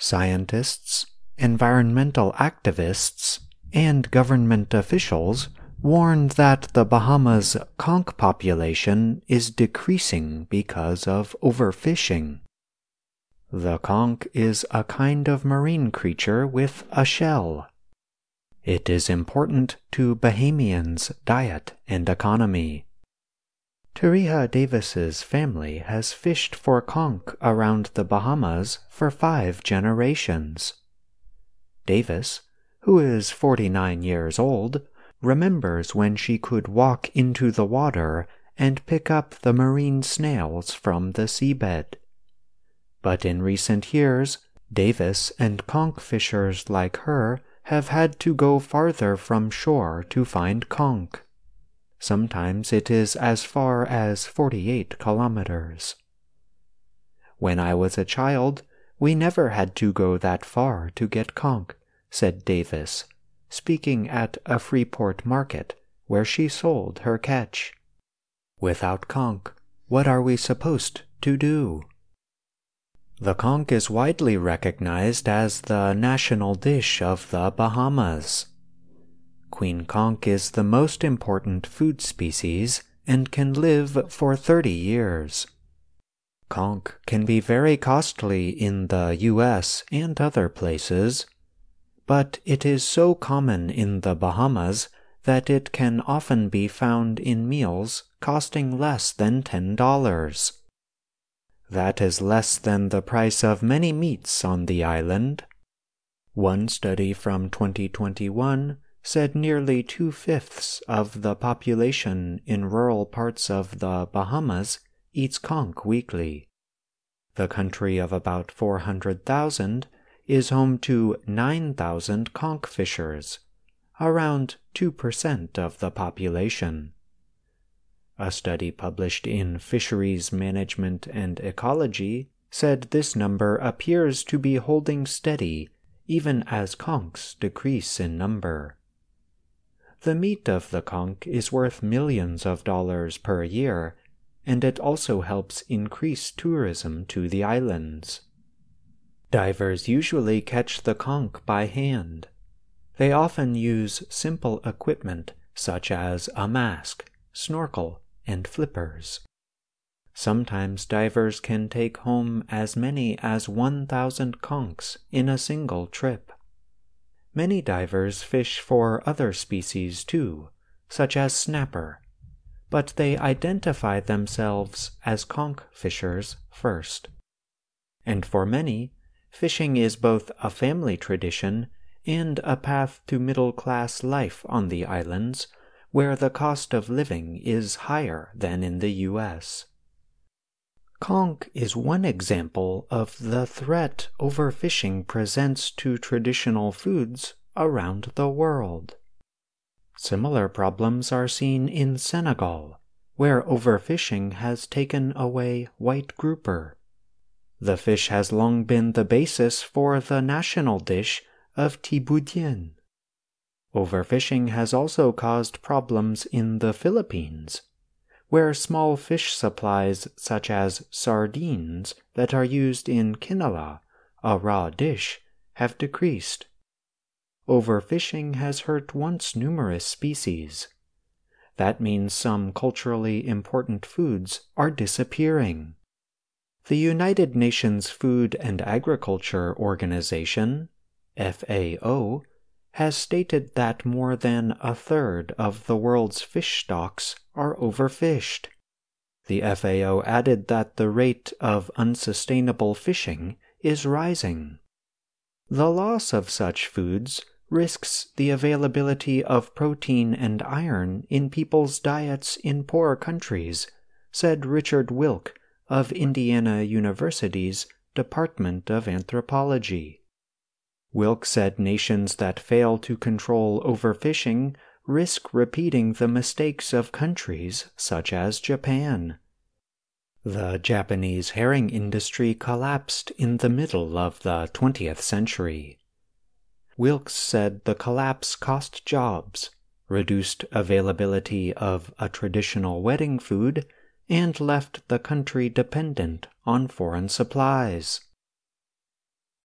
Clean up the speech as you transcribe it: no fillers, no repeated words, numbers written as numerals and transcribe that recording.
Scientists, environmental activists, and government officials warned that the Bahamas' conch population is decreasing because of overfishing. The conch is a kind of marine creature with a shell. It is important to Bahamians' diet and economy. Tariha Davis's family has fished for conch around the Bahamas for 5 generations. Davis, who is 49 years old, remembers when she could walk into the water and pick up the marine snails from the seabed. But in recent years, Davis and conch fishers like her have had to go farther from shore to find conch. Sometimes it is as far as 48 kilometers. "When I was a child, we never had to go that far to get conch," said Davis, speaking at a Freeport market where she sold her catch. "Without conch, what are we supposed to do?" The conch is widely recognized as the national dish of the Bahamas. Queen conch is the most important food species and can live for 30 years. Conch can be very costly in the U.S. and other places, but it is so common in the Bahamas that it can often be found in meals costing less than $10. That is less than the price of many meats on the island. One study from 2021 said nearly 2/5 of the population in rural parts of the Bahamas eats conch weekly. The country of about 400,000 is home to 9,000 conch fishers, around 2% of the population. A study published in Fisheries Management and Ecology said this number appears to be holding steady even as conchs decrease in number. The meat of the conch is worth millions of dollars per year, and it also helps increase tourism to the islands. Divers usually catch the conch by hand. They often use simple equipment such as a mask, snorkel, and flippers. Sometimes divers can take home as many as 1,000 conchs in a single trip. Many divers fish for other species too, such as snapper, but they identify themselves as conch fishers first. And for many, fishing is both a family tradition and a path to middle-class life on the islands, where the cost of living is higher than in the U.S. Conch is one example of the threat overfishing presents to traditional foods around the world. Similar problems are seen in Senegal, where overfishing has taken away white grouper. The fish has long been the basis for the national dish of tiboudienne. Overfishing has also caused problems in the Philippines, where small fish supplies such as sardines that are used in quinoa, a raw dish, have decreased. Overfishing has hurt once numerous species. That means some culturally important foods are disappearing. The United Nations Food and Agriculture Organization, FAO, has stated that more than 1/3 of the world's fish stocks are overfished. The FAO added that the rate of unsustainable fishing is rising. The loss of such foods risks the availability of protein and iron in people's diets in poor countries, said Richard Wilk of Indiana University's Department of Anthropology. Wilk said nations that fail to control overfishing risk repeating the mistakes of countries such as Japan. The Japanese herring industry collapsed in the middle of the 20th century. Wilkes said the collapse cost jobs, reduced availability of a traditional wedding food, and left the country dependent on foreign supplies.